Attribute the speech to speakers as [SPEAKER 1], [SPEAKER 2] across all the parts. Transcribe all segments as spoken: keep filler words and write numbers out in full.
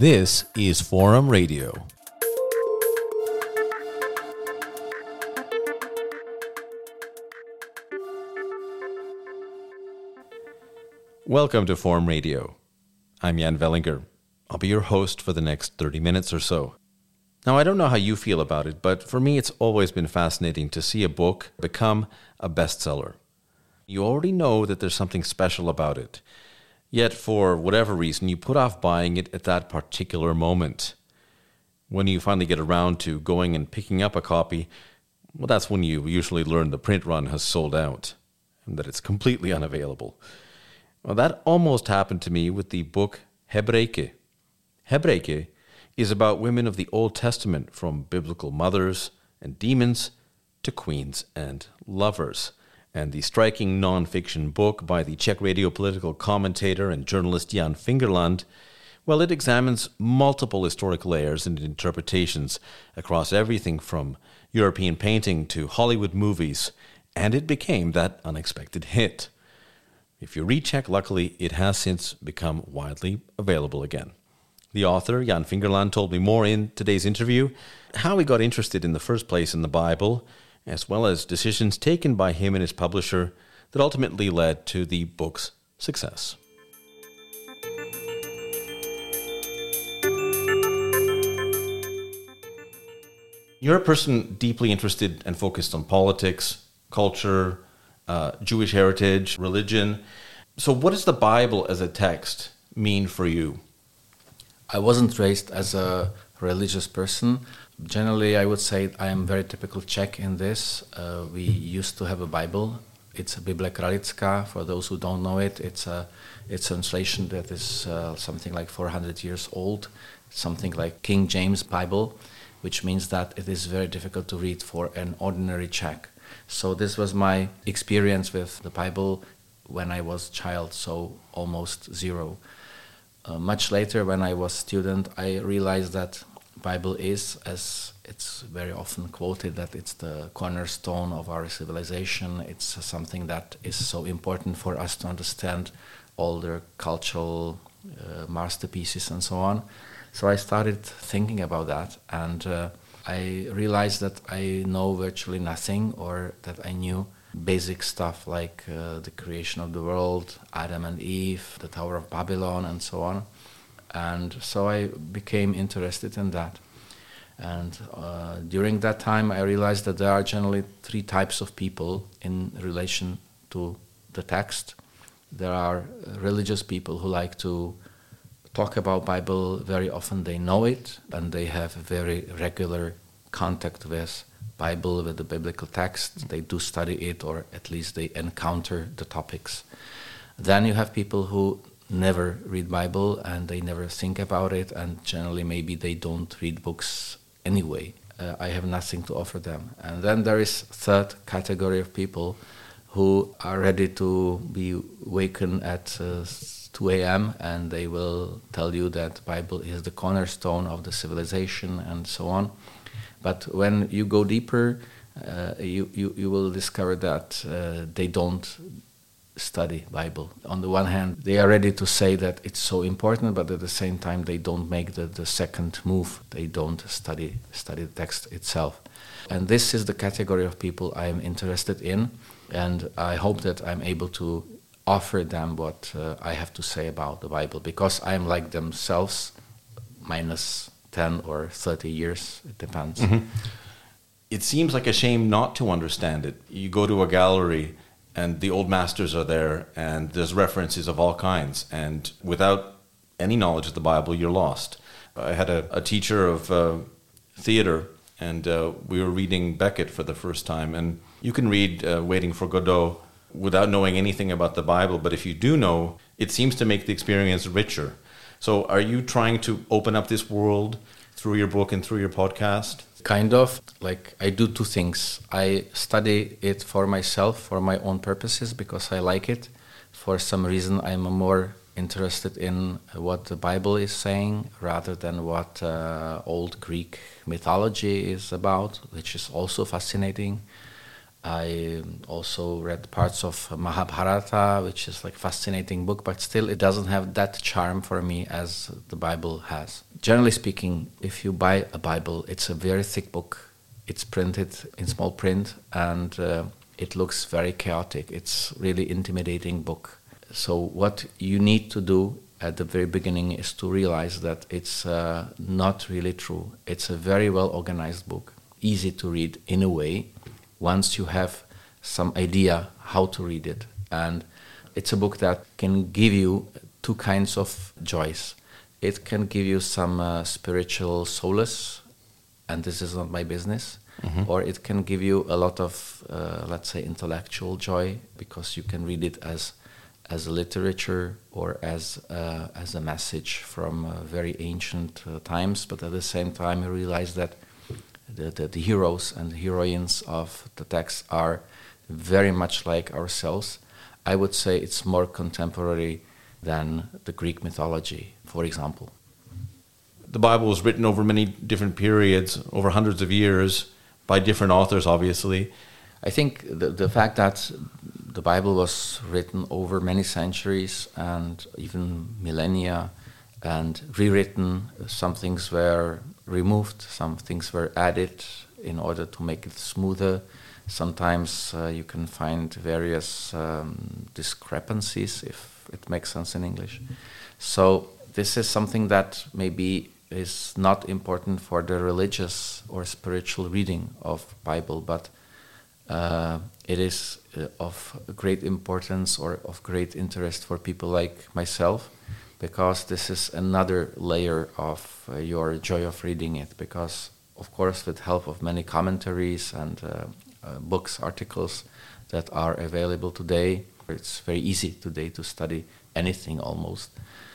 [SPEAKER 1] This is Forum Radio. Welcome to Forum Radio. I'm Jan Vellinger. I'll be your host for the next thirty minutes or so. Now, I don't know how you feel about it, but for me it's always been fascinating to see a book become a bestseller. You already know that there's something special about it. Yet, for whatever reason, you put off buying it at that particular moment. When you finally get around to going and picking up a copy, well, that's when you usually learn the print run has sold out and that it's completely unavailable. Well, that almost happened to me with the book Hebreeike. Hebreeike is about women of the Old Testament, from biblical mothers and demons to queens and lovers. And the striking non-fiction book by the Czech radio political commentator and journalist Jan Fingerland, well, it examines multiple historic layers and interpretations across everything from European painting to Hollywood movies, and it became that unexpected hit. If you read Czech, luckily, it has since become widely available again. The author, Jan Fingerland, told me more in today's interview, how he got interested in the first place in the Bible, as well as decisions taken by him and his publisher that ultimately led to the book's success. You're a person deeply interested and focused on politics, culture, uh, Jewish heritage, religion. So what does the Bible as a text mean for you?
[SPEAKER 2] I wasn't raised as a religious person. Generally, I would say I am very typical Czech in this. Uh, we used to have a Bible. It's a Bible Kralická. For those who don't know it, it's a it's a translation that is uh, something like four hundred years old, something like King James Bible, which means that it is very difficult to read for an ordinary Czech. So this was my experience with the Bible when I was a child, so almost zero. Uh, much later, when I was a student, I realized that Bible is, as it's very often quoted, that it's the cornerstone of our civilization. It's something that is so important for us to understand all the cultural uh, masterpieces and so on. So I started thinking about that, and uh, I realized that I know virtually nothing, or that I knew basic stuff like uh, the creation of the world, Adam and Eve, the Tower of Babylon, and so on. And so I became interested in that. And uh, during that time, I realized that there are generally three types of people in relation to the text. There are religious people who like to talk about Bible. Very often they know it, and they have very regular contact with Bible, with the biblical text. They do study it, or at least they encounter the topics. Then you have people who never read Bible, and they never think about it, and generally maybe they don't read books anyway. Uh, I have nothing to offer them. And then there is third category of people who are ready to be wakened at uh, two a.m. and they will tell you that Bible is the cornerstone of the civilization and so on. But when you go deeper, uh, you, you, you will discover that uh, they don't study Bible. On the one hand, they are ready to say that it's so important, but at the same time they don't make the, the second move. They don't study study the text itself. And this is the category of people I am interested in, and I hope that I'm able to offer them what uh, I have to say about the Bible, because I am like themselves, minus ten or thirty years, it depends.
[SPEAKER 1] Mm-hmm. It seems like a shame not to understand it. You go to a gallery and the old masters are there, and there's references of all kinds, and without any knowledge of the Bible, you're lost. I had a, a teacher of uh, theater, and uh, we were reading Beckett for the first time, and you can read uh, Waiting for Godot without knowing anything about the Bible, but if you do know, it seems to make the experience richer. So are you trying to open up this world through your book and through your podcast?
[SPEAKER 2] Kind of. Like, I do two things. I study it for myself, for my own purposes, because I like it. For some reason, I'm more interested in what the Bible is saying rather than what uh, old Greek mythology is about, which is also fascinating. I also read parts of Mahabharata, which is like a fascinating book, but still it doesn't have that charm for me as the Bible has. generally speaking, if you buy a Bible, it's a very thick book. It's printed in small print, and uh, it looks very chaotic. It's really intimidating book. So what you need to do at the very beginning is to realize that it's uh, not really true. It's a very well organized book, easy to read in a way, once you have some idea how to read it. And it's a book that can give you two kinds of joys. It can give you some uh, spiritual solace, and this is not my business. Mm-hmm. Or it can give you a lot of, uh, let's say, intellectual joy, because you can read it as as a literature or as uh, as a message from uh, very ancient uh, times. But at the same time, you realize that the, the, the heroes and the heroines of the text are very much like ourselves. I would say it's more contemporary than the Greek mythology, for example.
[SPEAKER 1] The Bible was written over many different periods, over hundreds of years, by different authors, obviously.
[SPEAKER 2] I think the, the fact that the Bible was written over many centuries and even millennia and rewritten, some things were removed, some things were added in order to make it smoother. Sometimes uh, you can find various um, discrepancies, if it makes sense in English. So this is something that maybe is not important for the religious or spiritual reading of Bible, but uh, it is uh, of great importance or of great interest for people like myself, because this is another layer of uh, your joy of reading it. Because, of course, with help of many commentaries and uh, uh, books, articles that are available today, it's very easy today to study anything almost.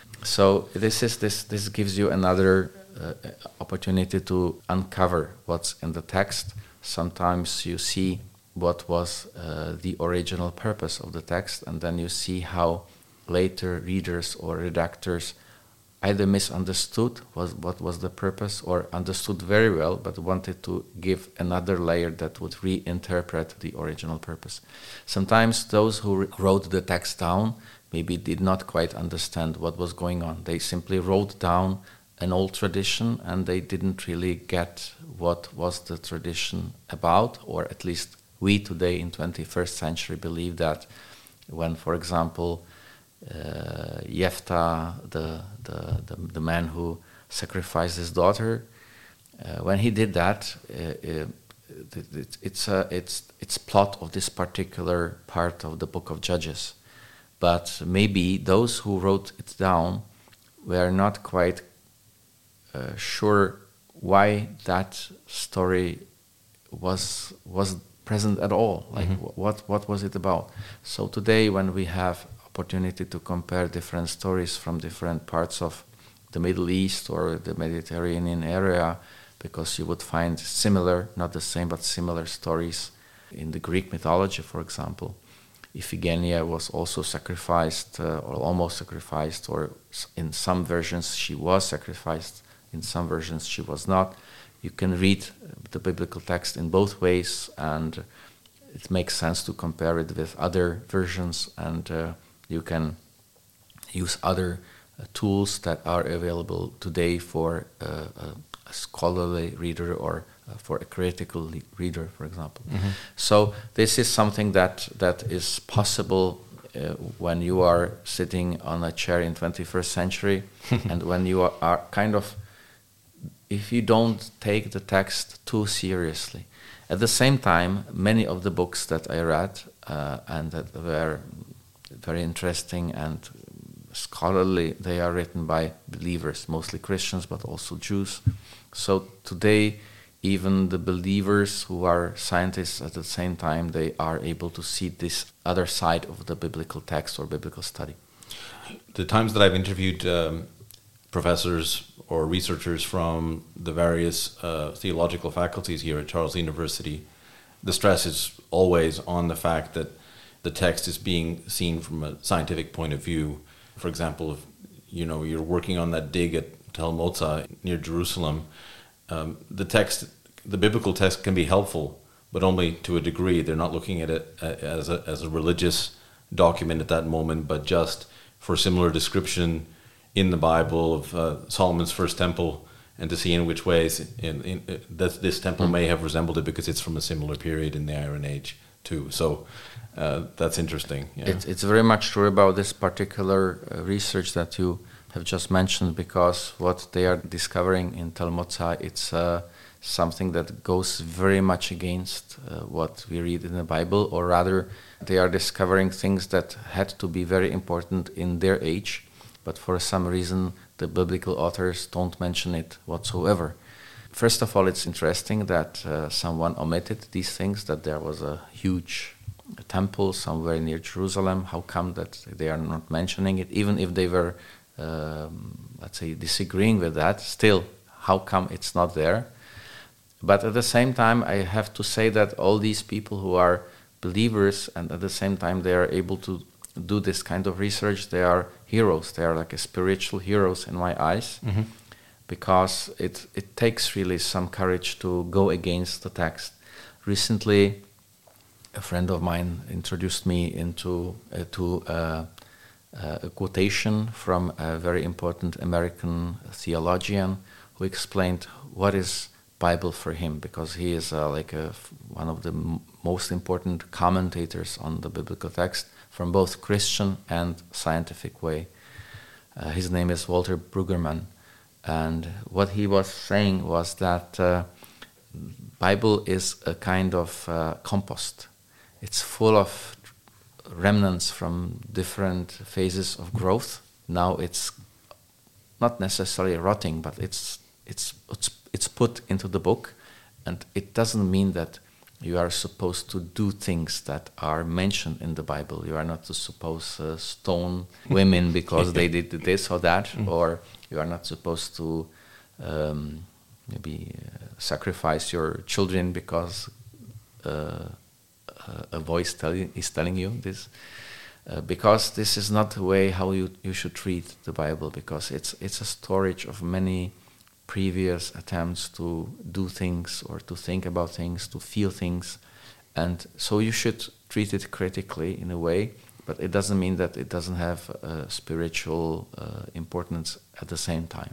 [SPEAKER 2] So this is this this gives you another uh, opportunity to uncover what's in the text. Sometimes you see what was uh, the original purpose of the text, and then you see how later readers or redactors either misunderstood was what was the purpose, or understood very well but wanted to give another layer that would reinterpret the original purpose. Sometimes those who wrote the text down maybe did not quite understand what was going on. They simply wrote down an old tradition and they didn't really get what was the tradition about, or at least we today in twenty-first century believe that when, for example, uh, Jephthah, the, the, the, the man who sacrificed his daughter, uh, when he did that, uh, uh, it, it's, a, it's, it's plot of this particular part of the book of Judges. But maybe those who wrote it down were not quite uh, sure why that story was was present at all. Like, mm-hmm. what what was it about? So today, when we have opportunity to compare different stories from different parts of the Middle East or the Mediterranean area, because you would find similar, not the same, but similar stories in the Greek mythology, for example. Iphigenia was also sacrificed, uh, or almost sacrificed, or in some versions she was sacrificed, in some versions she was not. You can read the biblical text in both ways, and it makes sense to compare it with other versions, and uh, you can use other uh, tools that are available today for uh, a, a scholarly reader or uh, for a critical le- reader, for example. Mm-hmm. So this is something that, that is possible uh, when you are sitting on a chair in twenty-first century and when you are, are kind of, if you don't take the text too seriously. At the same time, many of the books that I read uh, and that were very interesting and scholarly, they are written by believers, mostly Christians, but also Jews. So today, even the believers who are scientists at the same time, they are able to see this other side of the biblical text or biblical study.
[SPEAKER 1] The times that I've interviewed um, professors or researchers from the various uh, theological faculties here at Charles University, the stress is always on the fact that the text is being seen from a scientific point of view. For example, if you know you're working on that dig at Tel Motza near Jerusalem, um, the text, the biblical text, can be helpful, but only to a degree. They're not looking at it as a as a religious document at that moment, but just for similar description in the Bible of uh, Solomon's first temple, and to see in which ways in, in, uh, that this temple mm. may have resembled it, because it's from a similar period in the Iron Age too. So uh, that's interesting. Yeah.
[SPEAKER 2] It, it's very much true about this particular uh, research that you have just mentioned, because what they are discovering in Tel Motza, it's uh, something that goes very much against uh, what we read in the Bible, or rather they are discovering things that had to be very important in their age, but for some reason the biblical authors don't mention it whatsoever. First of all, it's interesting that uh, someone omitted these things, that there was a huge temple somewhere near Jerusalem. How come that they are not mentioning it? Even if they were, um, let's say, disagreeing with that, still, how come it's not there? But at the same time, I have to say that all these people who are believers, and at the same time they are able to do this kind of research, they are heroes. They are like a spiritual heroes in my eyes, mm-hmm. because it it takes really some courage to go against the text. Recently, a friend of mine introduced me into uh, to uh, uh, a quotation from a very important American theologian who explained what is Bible for him, because he is uh, like a, one of the m- most important commentators on the biblical text from both Christian and scientific way. Uh, his name is Walter Brueggemann, and what he was saying was that uh, Bible is a kind of uh, compost. It's full of remnants from different phases of growth. Now it's not necessarily rotting, but it's it's it's it's put into the book, and it doesn't mean that you are supposed to do things that are mentioned in the Bible. You are not supposed to stone women because they did this or that, mm. or you are not supposed to um, maybe uh, sacrifice your children because uh, a voice tell you, is telling you this. Uh, because this is not the way how you, you should treat the Bible, because it's it's a storage of many previous attempts to do things or to think about things, to feel things, and so you should treat it critically in a way, but it doesn't mean that it doesn't have uh, spiritual uh, importance at the same time.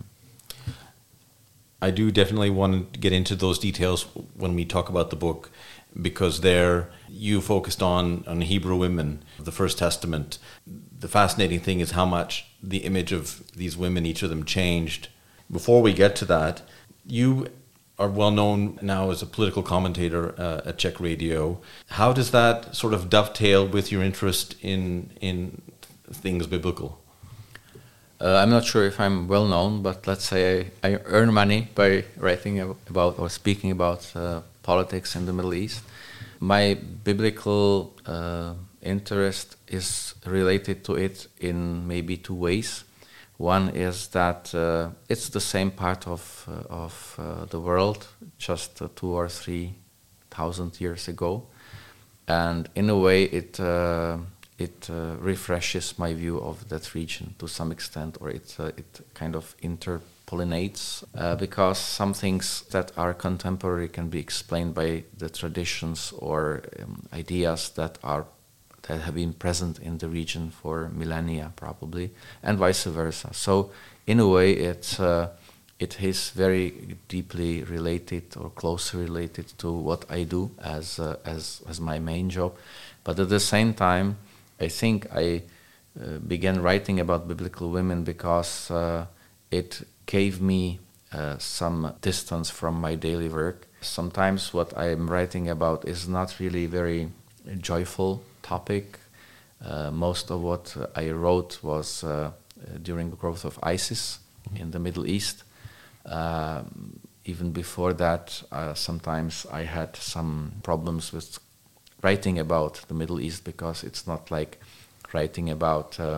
[SPEAKER 1] I do definitely want to get into those details when we talk about the book, because there you focused on, on Hebrew women, the First Testament. The fascinating thing is how much the image of these women, each of them, changed. Before we get to that, you are well known now as a political commentator uh, at Czech Radio. How does that sort of dovetail with your interest in in things biblical?
[SPEAKER 2] Uh, I'm not sure if I'm well known, but let's say I, I earn money by writing about or speaking about uh, politics in the Middle East. My biblical uh, interest is related to it in maybe two ways. One is that uh, it's the same part of uh, of uh, the world, just uh, two or three thousand years ago, and in a way it uh, it uh, refreshes my view of that region to some extent, or it uh, it kind of interpollinates uh, because some things that are contemporary can be explained by the traditions or um, ideas that are. that have been present in the region for millennia, probably, and vice versa. So, in a way, it's uh, it is very deeply related or closely related to what I do as uh, as as my main job. But at the same time, I think I uh, began writing about biblical women because uh, it gave me uh, some distance from my daily work. Sometimes what I am writing about is not really very joyful topic. Uh, most of what uh, I wrote was uh, during the growth of ISIS mm-hmm. in the Middle East. Uh, even before that, uh, sometimes I had some problems with writing about the Middle East because it's not like writing about uh,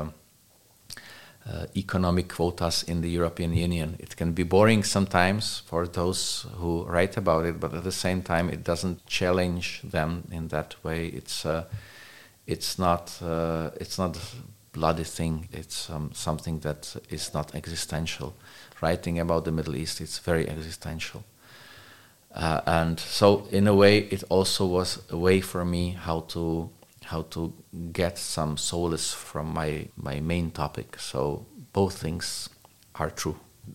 [SPEAKER 2] uh, economic quotas in the European Union. It can be boring sometimes for those who write about it, but at the same time, it doesn't challenge them in that way. It's uh, It's not. Uh, it's not a bloody thing. It's um, something that is not existential. Writing about the Middle East, it's very existential, uh, and so in a way, it also was a way for me how to how to get some solace from my my main topic. So both things are true.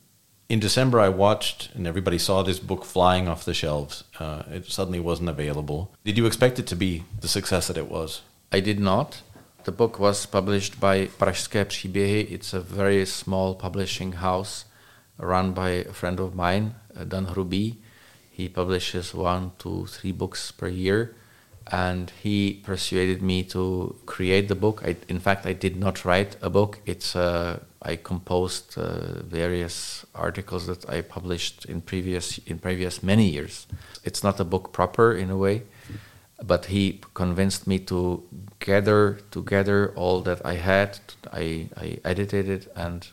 [SPEAKER 1] In December, I watched, and everybody saw this book flying off the shelves. Uh, it suddenly wasn't available. Did you expect it to be the success that it was?
[SPEAKER 2] I did not. The book was published by Pražské příběhy. It's a very small publishing house run by a friend of mine, Dan Hrubý. He publishes one, two, three books per year. And he persuaded me to create the book. I, in fact, I did not write a book. It's uh, I composed uh, various articles that I published in previous in previous many years. It's not a book proper in a way, but he convinced me to gather together all that I had. I, I edited it and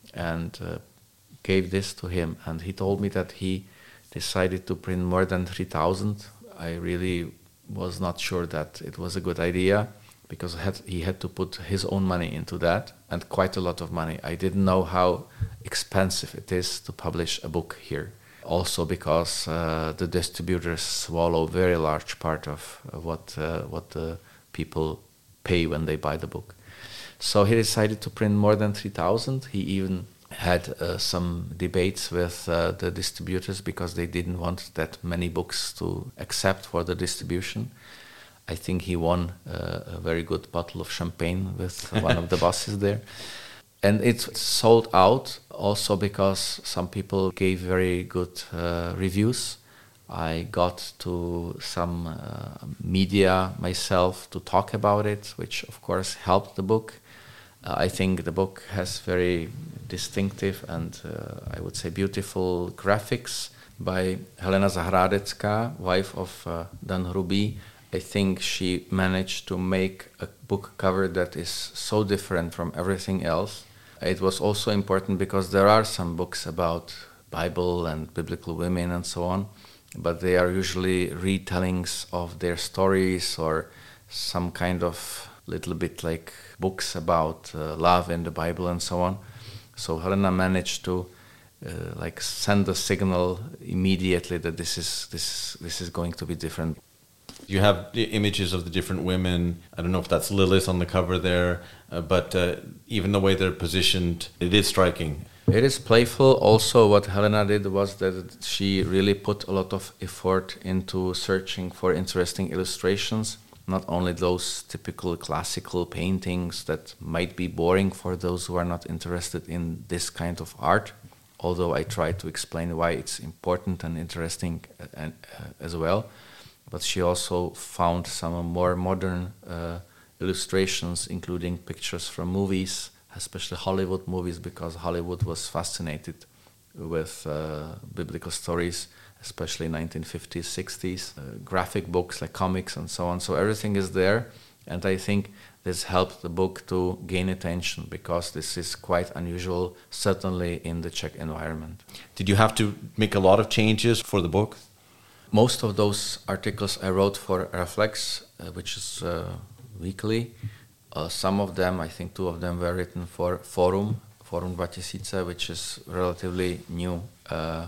[SPEAKER 2] and uh, gave this to him. And he told me that he decided to print more than three thousand. I really was not sure that it was a good idea because had, he had to put his own money into that, and quite a lot of money. I didn't know how expensive it is to publish a book here. Also because uh, the distributors swallow a very large part of uh, what uh, what the people pay when they buy the book. So he decided to print more than three thousand. He even had uh, some debates with uh, the distributors because they didn't want that many books to accept for the distribution. I think he won uh, a very good bottle of champagne with one of the bosses there. And it's sold out also because some people gave very good uh, reviews. I got to some uh, media myself to talk about it, which of course helped the book. Uh, I think the book has very distinctive and uh, I would say beautiful graphics by Helena Zahradecká, wife of uh, Dan Hrubý. I think she managed to make a book cover that is so different from everything else. It was also important because there are some books about Bible and biblical women and so on, but they are usually retellings of their stories or some kind of little bit like books about uh, love in the Bible and so on. So Helena managed to uh, like send a signal immediately that this is this this is going to be different.
[SPEAKER 1] You have images of the different women. I don't know if that's Lilith on the cover there, uh, but uh, even the way they're positioned, it is striking.
[SPEAKER 2] It is playful. Also, what Helena did was that she really put a lot of effort into searching for interesting illustrations, not only those typical classical paintings that might be boring for those who are not interested in this kind of art, although I try to explain why it's important and interesting uh, uh, as well. But she also found some more modern uh, illustrations, including pictures from movies, especially Hollywood movies, because Hollywood was fascinated with uh, biblical stories, especially nineteen fifties, sixties, uh, graphic books like comics and so on. So everything is there, and I think this helped the book to gain attention because this is quite unusual, certainly in the Czech environment.
[SPEAKER 1] Did you have to make a lot of changes for the book?
[SPEAKER 2] Most of those articles I wrote for Reflex, uh, which is uh, weekly. Uh, some of them, I think two of them were written for Forum, Forum two tisíce, which is relatively new, uh,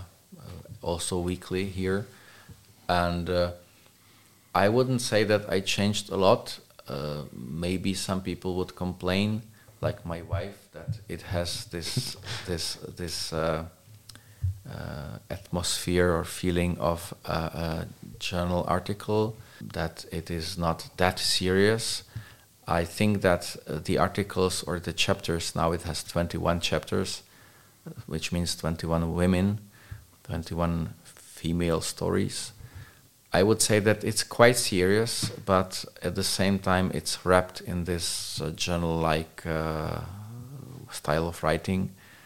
[SPEAKER 2] also weekly here. And uh, I wouldn't say that I changed a lot. Uh, maybe some people would complain, like my wife, that it has this this this uh, uh, atmosphere or feeling of a, a journal article, that it is not that serious. I think that uh, the articles or the chapters, now it has twenty-one chapters, which means twenty-one women, twenty-one female stories. I would say that it's quite serious, but at the same time it's wrapped in this uh, journal-like uh, style of writing.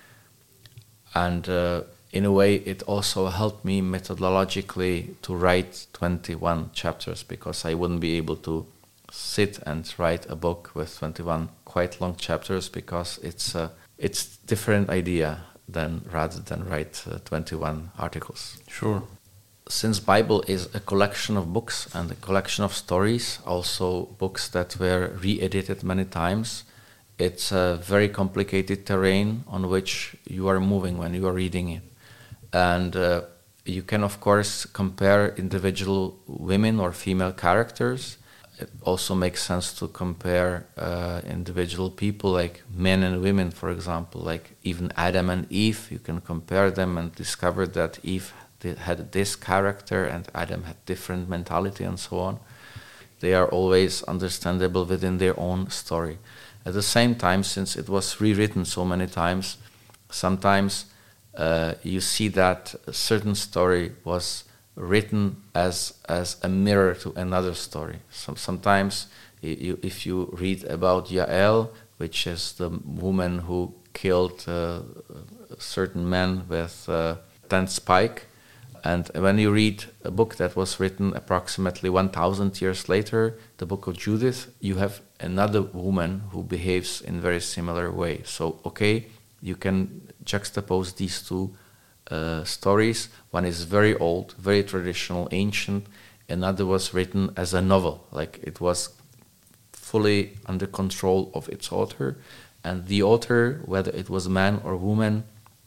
[SPEAKER 2] And uh, in a way it also helped me methodologically to write twenty-one chapters, because I wouldn't be able to sit and write a book with twenty-one quite long chapters, because it's a it's different idea than rather than write uh, twenty-one articles.
[SPEAKER 1] Sure.
[SPEAKER 2] Since Bible is a collection of books and a collection of stories, also books that were re-edited many times, it's a very complicated terrain on which you are moving when you are reading it. And uh, you can, of course, compare individual women or female characters. it also makes sense to compare uh, individual people, like men and women, for example, like even Adam and Eve. You can compare them and discover that Eve had this character and Adam had different mentality and so on. They are always understandable within their own story. At the same time, since it was rewritten so many times, sometimes uh, you see that a certain story was written as as a mirror to another story. So sometimes, you, if you read about Yael, which is the woman who killed uh, certain men with a tent spike, and when you read a book that was written approximately one thousand years later, the book of Judith, you have another woman who behaves in very similar way. So, okay, you can juxtapose these two uh, stories. One is very old, very traditional, ancient. Another was written as a novel, like it was fully under control of its author. And the author, whether it was man or woman,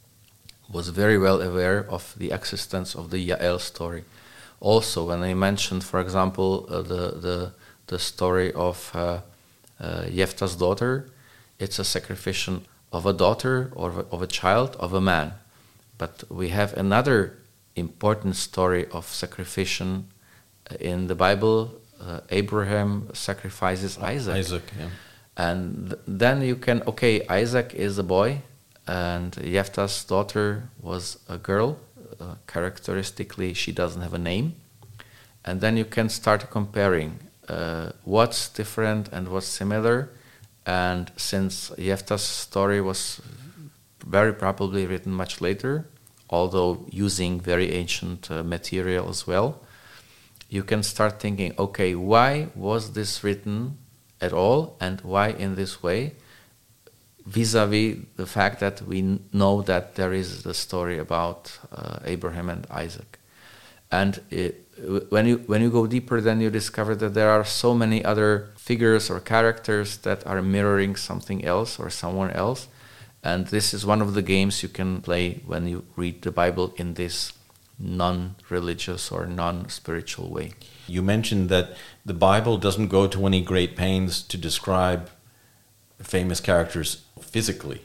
[SPEAKER 2] was very well aware of the existence of the Yael story. Also, when I mentioned, for example, uh, the, the the story of uh, uh, Jephthah's daughter, it's a sacrifice of a daughter or of a child of a man. But we have another important story of sacrifice in the Bible. Uh, Abraham sacrifices Isaac.
[SPEAKER 1] Isaac, yeah.
[SPEAKER 2] And th- then you can, okay, Isaac is a boy, and Jephthah's daughter was a girl. Uh, characteristically, she doesn't have a name. And then you can start comparing uh, what's different and what's similar. And since Jephthah's story was very probably written much later, although using very ancient uh, material as well, you can start thinking, okay, why was this written at all, and why in this way, vis-a-vis the fact that we n- know that there is the story about uh, Abraham and Isaac. And it, when you when you go deeper, then you discover that there are so many other figures or characters that are mirroring something else or someone else. And this is one of the games you can play when you read the Bible in this non-religious or non-spiritual way.
[SPEAKER 1] You mentioned that the Bible doesn't go to any great pains to describe famous characters physically.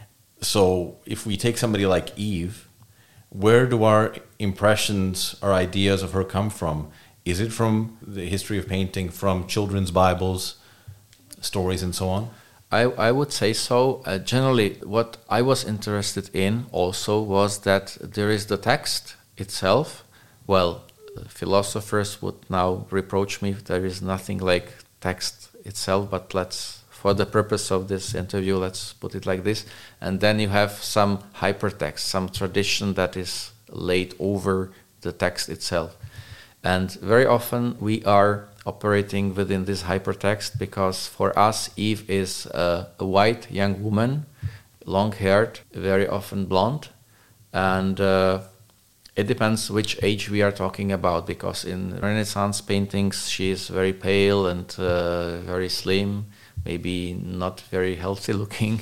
[SPEAKER 1] So if we take somebody like Eve, where do our impressions, our ideas of her come from? Is it from the history of painting, from children's Bibles, stories and so on?
[SPEAKER 2] I, I would say so. Uh, generally, what I was interested in also was that there is the text itself. Well, philosophers would now reproach me if there is nothing like text itself, but let's, for the purpose of this interview, let's put it like this. And then you have some hypertext, some tradition that is laid over the text itself. And very often we are operating within this hypertext because for us, Eve is a, a white young woman, long-haired, very often blonde, and uh, it depends which age we are talking about, because in Renaissance paintings she is very pale and uh, very slim, maybe not very healthy looking,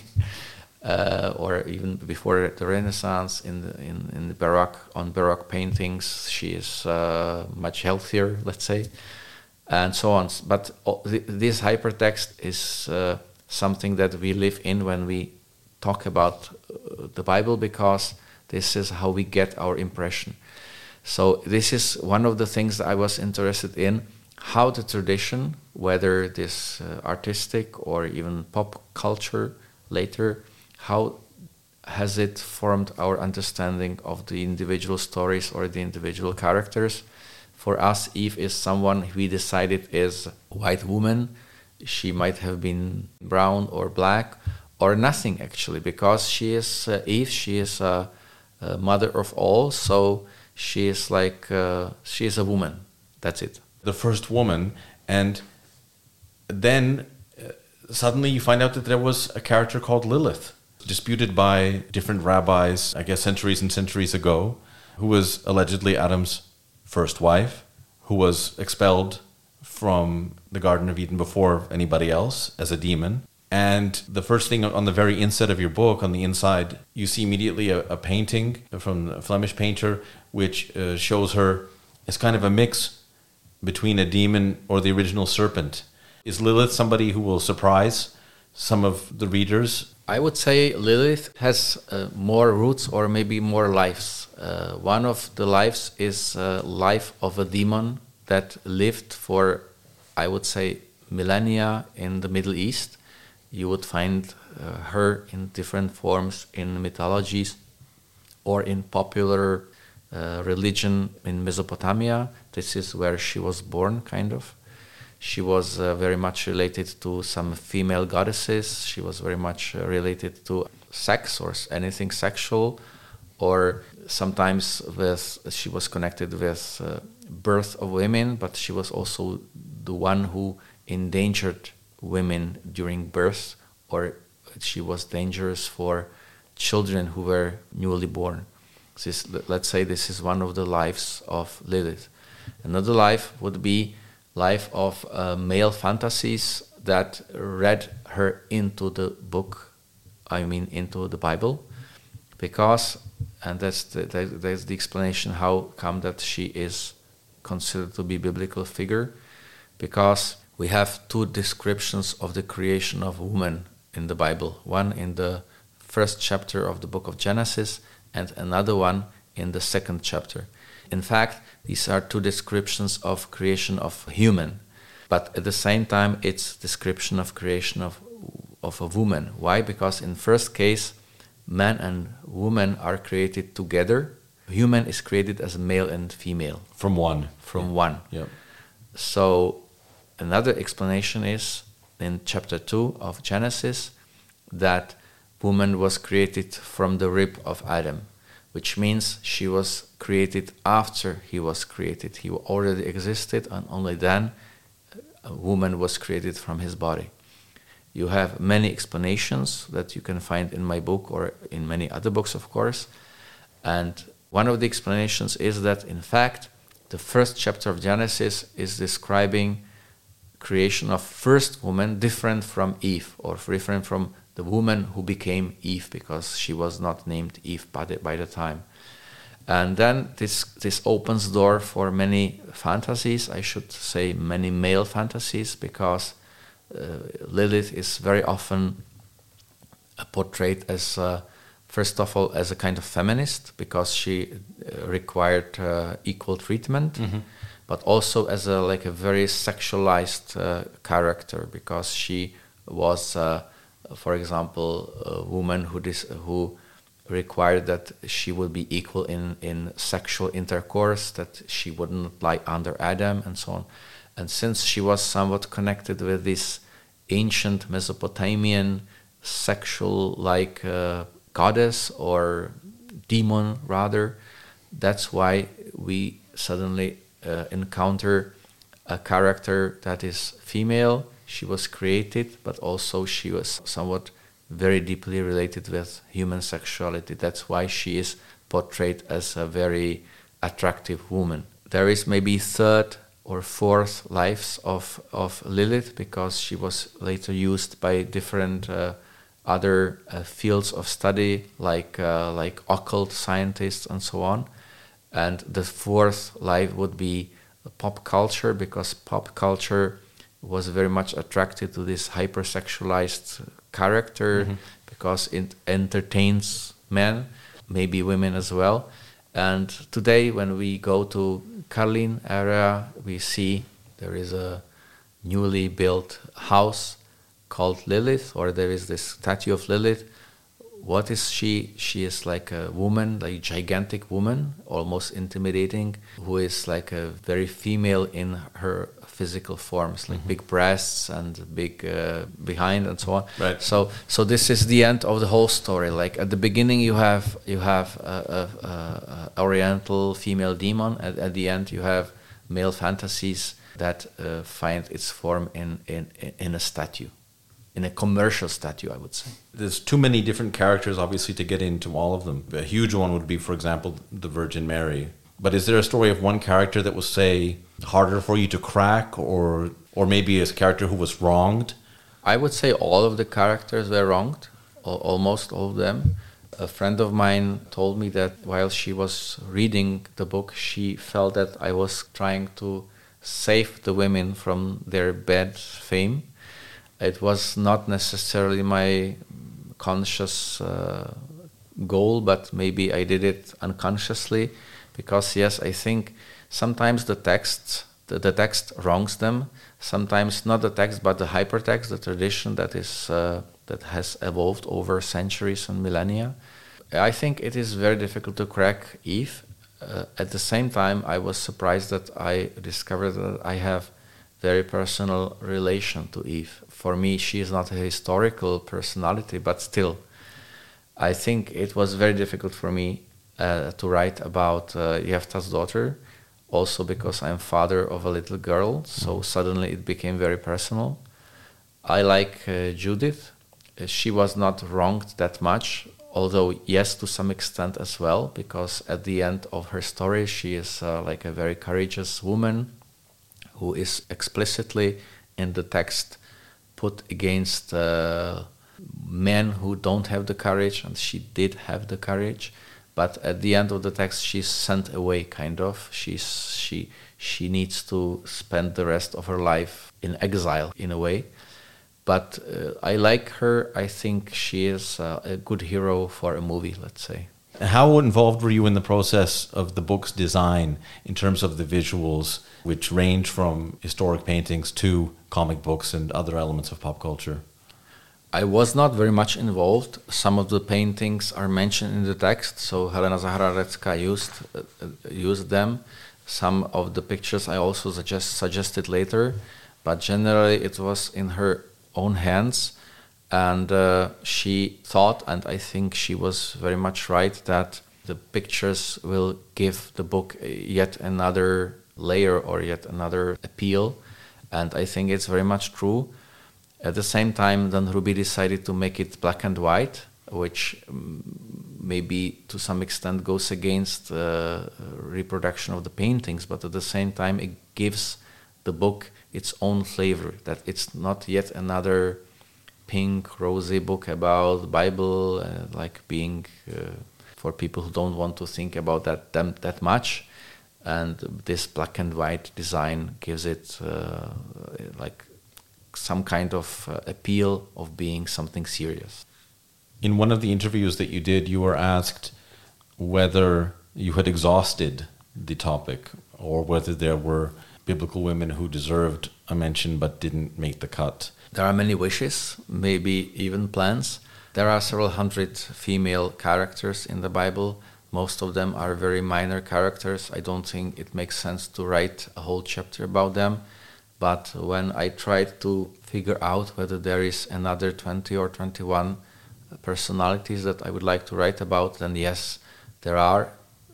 [SPEAKER 2] uh, or even before the Renaissance in the in, in the Baroque, on Baroque paintings she is uh, much healthier, let's say, and so on. But this hypertext is uh, something that we live in when we talk about uh, the Bible, because this is how we get our impression. So this is one of the things that I was interested in, how the tradition, whether this uh, artistic or even pop culture later, how has it formed our understanding of the individual stories or the individual characters. For us, Eve is someone we decided is a white woman. She might have been brown or black or nothing actually, because she is uh, Eve, she is a, a mother of all, so she is like, uh, she is a woman, that's it.
[SPEAKER 1] The first woman, and then uh, suddenly you find out that there was a character called Lilith, disputed by different rabbis, I guess centuries and centuries ago, who was allegedly Adam's first wife, who was expelled from the Garden of Eden before anybody else as a demon. And the first thing on the very inside of your book, on the inside, you see immediately a, a painting from a Flemish painter, which uh, shows her as kind of a mix between a demon or the original serpent? Is Lilith somebody who will surprise some of the readers?
[SPEAKER 2] I would say Lilith has uh, more roots or maybe more lives. Uh, one of the lives is uh, life of a demon that lived for, I would say, millennia in the Middle East. You would find uh, her in different forms in mythologies or in popular uh, religion in Mesopotamia. This is where she was born, kind of. She was uh, very much related to some female goddesses. She was very much uh, related to sex or anything sexual, or sometimes with she was connected with uh, birth of women, but she was also the one who endangered women during birth, or she was dangerous for children who were newly born. This, let's say this is one of the lives of Lilith. Another life would be life of uh, male fantasies that read her into the book, I mean into the Bible, because, and that's the, that's the explanation how come that she is considered to be a biblical figure, because we have two descriptions of the creation of woman in the Bible, one in the first chapter of the book of Genesis and another one in the second chapter. In fact, these are two descriptions of creation of human, but at the same time it's description of creation of of a woman. Why? Because in first case, man and woman are created together. Human is created as male and female.
[SPEAKER 1] From one.
[SPEAKER 2] From
[SPEAKER 1] yeah.
[SPEAKER 2] one.
[SPEAKER 1] Yeah.
[SPEAKER 2] So another explanation is in chapter two of Genesis that woman was created from the rib of Adam, which means she was created after he was created. He already existed, and only then a woman was created from his body. You have many explanations that you can find in my book or in many other books, of course. And one of the explanations is that, in fact, the first chapter of Genesis is describing creation of first woman different from Eve, or different from the woman who became Eve, because she was not named Eve by the, by the time. And then this this opens door for many fantasies, I should say many male fantasies, because uh, Lilith is very often uh, portrayed as, uh, first of all, as a kind of feminist, because she uh, required uh, equal treatment, mm-hmm. but also as a like a very sexualized uh, character, because she was, uh, for example, a woman who dis- who required that she would be equal in, in sexual intercourse, that she wouldn't lie under Adam, and so on. And since she was somewhat connected with this ancient Mesopotamian sexual-like uh, goddess or demon, rather, that's why we suddenly uh, encounter a character that is female. She was created, but also she was somewhat very deeply related with human sexuality. That's why she is portrayed as a very attractive woman. There is maybe third or fourth lives of, of Lilith, because she was later used by different uh, other uh, fields of study, like uh, like occult scientists and so on. And the fourth life would be pop culture, because pop culture was very much attracted to this hypersexualized character, mm-hmm. because it entertains men, maybe women as well. And today, when we go to Karlín area, we see there is a newly built house called Lilith, or there is this statue of Lilith. What is she? She is like a woman, like a gigantic woman, almost intimidating, who is like a very female in her physical forms, like mm-hmm. big breasts and big uh, behind and so on.
[SPEAKER 1] Right.
[SPEAKER 2] So, so this is the end of the whole story. Like at the beginning, you have you have a, a, a, a Oriental female demon. At, at the end, you have male fantasies that uh, find its form in, in in a statue. In a commercial statue, I would say.
[SPEAKER 1] There's too many different characters, obviously, to get into all of them. A huge one would be, for example, the Virgin Mary. But is there a story of one character that was, say, harder for you to crack, or or maybe a character who was wronged?
[SPEAKER 2] I would say all of the characters were wronged, almost all of them. A friend of mine told me that while she was reading the book, she felt that I was trying to save the women from their bad fame. It was not necessarily my conscious uh, goal, but maybe I did it unconsciously, because yes, I think sometimes the text, the, the text wrongs them. Sometimes not the text, but the hypertext, the tradition that is uh, that has evolved over centuries and millennia. I think it is very difficult to crack Eve. Uh, at the same time, I was surprised that I discovered that I have very personal relation to Eve. For me, she is not a historical personality, but still, I think it was very difficult for me uh, to write about uh, Jefta's daughter, also because I'm father of a little girl, so suddenly it became very personal. I like uh, Judith. Uh, she was not wronged that much, although yes, to some extent as well, because at the end of her story, she is uh, like a very courageous woman who is explicitly in the text put against uh, men who don't have the courage, and she did have the courage. But at the end of the text, she's sent away, kind of. She's she she needs to spend the rest of her life in exile, in a way. But uh, I like her. I think she is uh, a good hero for a movie, let's say.
[SPEAKER 1] How involved were you in the process of the book's design in terms of the visuals, which range from historic paintings to comic books and other elements of pop culture?
[SPEAKER 2] I was not very much involved. Some of the paintings are mentioned in the text, so Helena Zahradecká used uh, used them. Some of the pictures I also suggest, suggested later, but generally it was in her own hands. And uh, she thought, and I think she was very much right, that the pictures will give the book yet another layer or yet another appeal. And I think it's very much true. At the same time, then Ruby decided to make it black and white, which um, maybe to some extent goes against uh, reproduction of the paintings, but at the same time it gives the book its own flavor, that it's not yet another pink, rosy book about the Bible, uh, like being uh, for people who don't want to think about that them, that much. And this black and white design gives it uh, like some kind of uh, appeal of being something serious.
[SPEAKER 1] In one of the interviews that you did, you were asked whether you had exhausted the topic or whether there were biblical women who deserved a mention but didn't make the cut.
[SPEAKER 2] There are many wishes, maybe even plans. There are several hundred female characters in the Bible. Most of them are very minor characters. I don't think it makes sense to write a whole chapter about them. But when I tried to figure out whether there is another twenty or twenty-one personalities that I would like to write about, then yes, there are.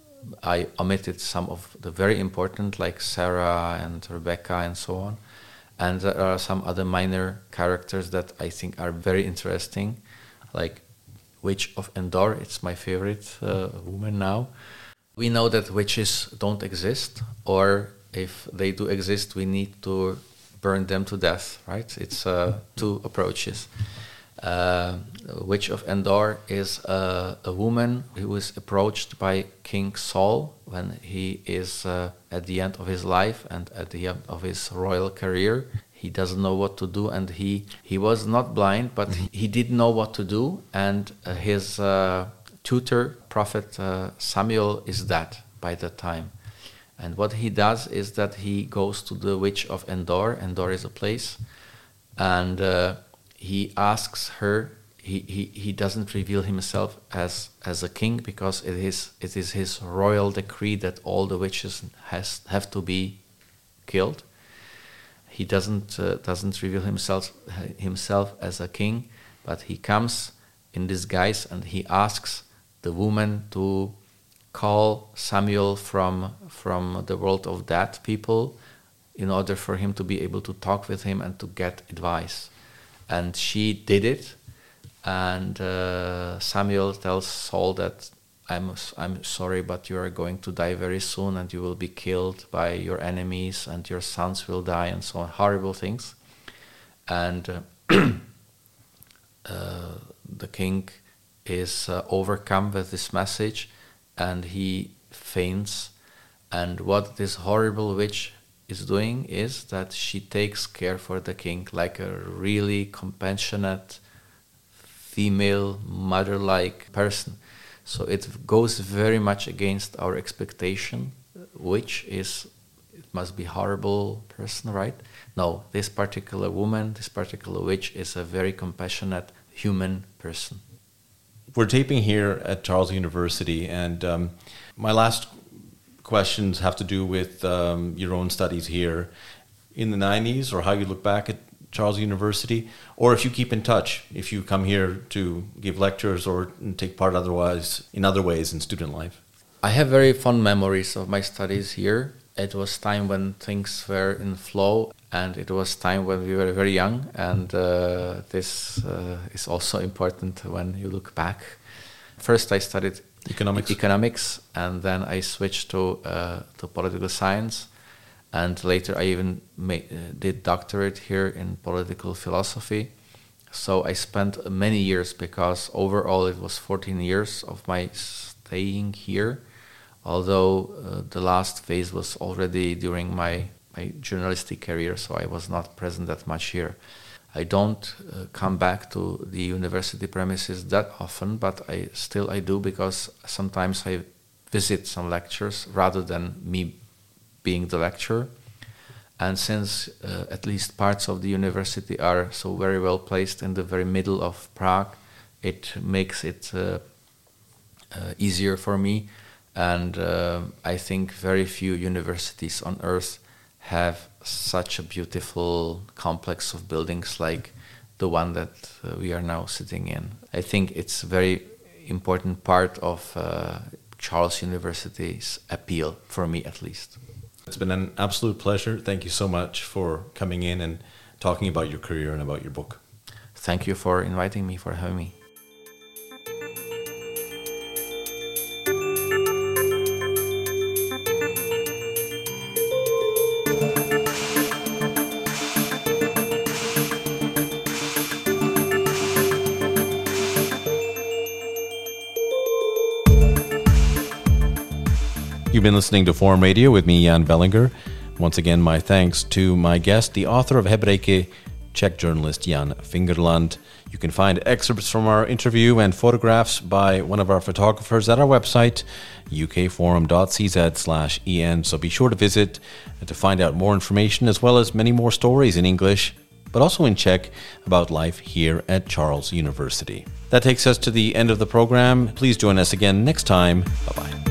[SPEAKER 2] I omitted some of the very important, like Sarah and Rebecca and so on. And there are some other minor characters that I think are very interesting, like Witch of Endor. It's my favorite uh, woman now. We know that witches don't exist, or if they do exist, we need to burn them to death, right? It's uh, two approaches. Uh, Witch of Endor is uh, a woman who is approached by King Saul when he is uh, at the end of his life and at the end of his royal career. He doesn't know what to do, and he, he was not blind, but mm-hmm. he did know what to do, and uh, his uh, tutor, Prophet uh, Samuel, is dead by that time. And what he does is that he goes to the Witch of Endor. Endor is a place, and uh, he asks her. He, he, he doesn't reveal himself as as a king because it is it is his royal decree that all the witches has have to be killed. He doesn't uh, doesn't reveal himself himself as a king, but he comes in disguise and he asks the woman to call Samuel from from the world of dead people in order for him to be able to talk with him and to get advice. And she did it. And uh, Samuel tells Saul that I'm I'm sorry, but you are going to die very soon, and you will be killed by your enemies, and your sons will die, and so on, horrible things. And uh, uh, the king is uh, overcome with this message, and he faints. And what this horrible witch is doing is that she takes care for the king like a really compassionate, female, mother-like person. So it goes very much against our expectation, which is, it must be horrible person, right? No, this particular woman, this particular witch is a very compassionate human person.
[SPEAKER 1] We're taping here at Charles University, and um, my last questions have to do with um, your own studies here in the nineties, or how you look back at Charles University, or if you keep in touch, if you come here to give lectures or take part otherwise in other ways in student life.
[SPEAKER 2] I have very fond memories of my studies here. It was time when things were in flow, and it was time when we were very young, and uh, this uh, is also important when you look back. First I studied economics, economics and then I switched to uh, to political science, and later I even made, uh, did doctorate here in political philosophy. So I spent many years, because overall it was fourteen years of my staying here, although uh, the last phase was already during my, my journalistic career, so I was not present that much here. I don't uh, come back to the university premises that often, but I still I do, because sometimes I visit some lectures rather than me being the lecturer. And since uh, at least parts of the university are so very well placed in the very middle of Prague, it makes it uh, uh, easier for me. And uh, I think very few universities on earth have such a beautiful complex of buildings like the one that uh, we are now sitting in. I think it's a very important part of uh, Charles University's appeal, for me at least.
[SPEAKER 1] It's been an absolute pleasure. Thank you so much for coming in and talking about your career and about your book.
[SPEAKER 2] Thank you for inviting me, for having me.
[SPEAKER 1] You've been listening to Forum Radio with me, Jan Vellinger. Once again, my thanks to my guest, the author of Hebrejke, Czech journalist Jan Fingerland. You can find excerpts from our interview and photographs by one of our photographers at our website, ukforum.cz slash en. So be sure to visit to find out more information, as well as many more stories in English, but also in Czech, about life here at Charles University. That takes us to the end of the program. Please join us again next time. Bye-bye.